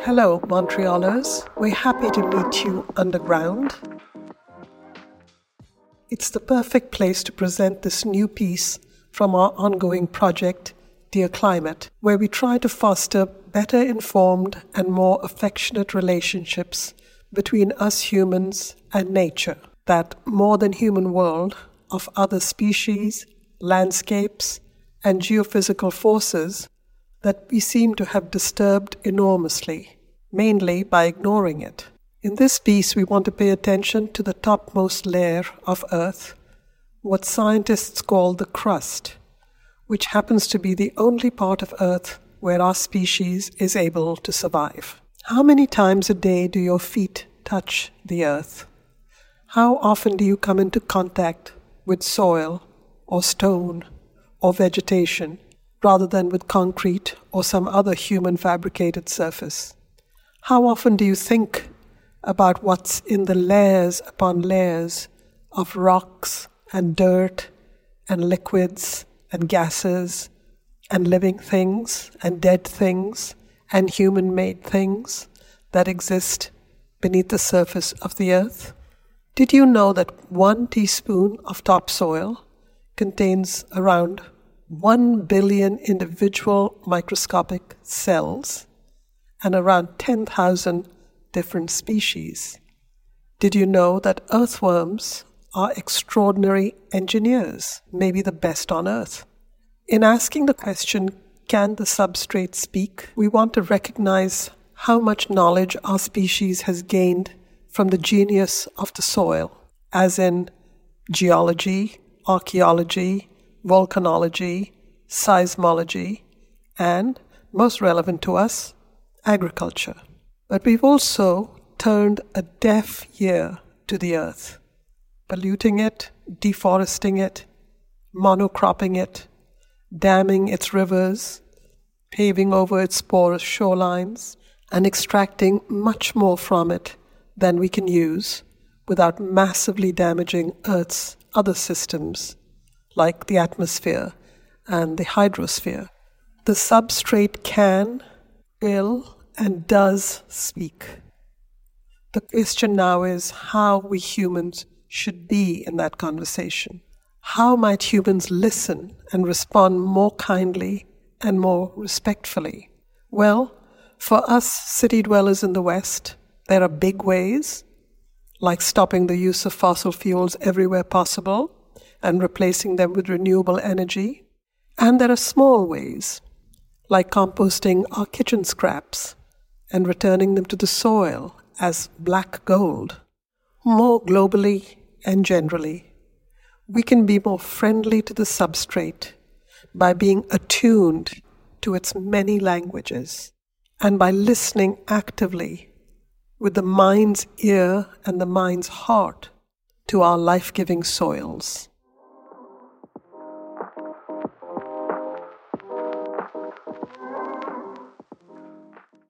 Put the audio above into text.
Hello, Montrealers. We're happy to meet you underground. It's the perfect place to present this new piece from our ongoing project, Dear Climate, where we try to foster better informed and more affectionate relationships between us humans and nature, that more than human world of other species, landscapes, and geophysical forces that we seem to have disturbed enormously, mainly by ignoring it. In this piece, we want to pay attention to the topmost layer of Earth, what scientists call the crust, which happens to be the only part of Earth where our species is able to survive. How many times a day do your feet touch the Earth? How often do you come into contact with soil or stone or vegetation, rather than with concrete or some other human-fabricated surface? How often do you think about what's in the layers upon layers of rocks and dirt and liquids and gases and living things and dead things and human-made things that exist beneath the surface of the Earth? Did you know that 1 teaspoon of topsoil contains around 1 billion individual microscopic cells and around 10,000 different species? Did you know that earthworms are extraordinary engineers, maybe the best on Earth? In asking the question, can the substrate speak, we want to recognize how much knowledge our species has gained from the genius of the soil, as in geology, archaeology, volcanology, seismology, and, most relevant to us, agriculture. But we've also turned a deaf ear to the Earth, polluting it, deforesting it, monocropping it, damming its rivers, paving over its porous shorelines, and extracting much more from it than we can use without massively damaging Earth's other systems, like the atmosphere and the hydrosphere. The substrate can, will, and does speak. The question now is how we humans should be in that conversation. How might humans listen and respond more kindly and more respectfully? Well, for us city dwellers in the West, there are big ways, like stopping the use of fossil fuels everywhere possible and replacing them with renewable energy. And there are small ways, like composting our kitchen scraps and returning them to the soil as black gold. More globally and generally, we can be more friendly to the substrate by being attuned to its many languages and by listening actively with the mind's ear and the mind's heart to our life-giving soils.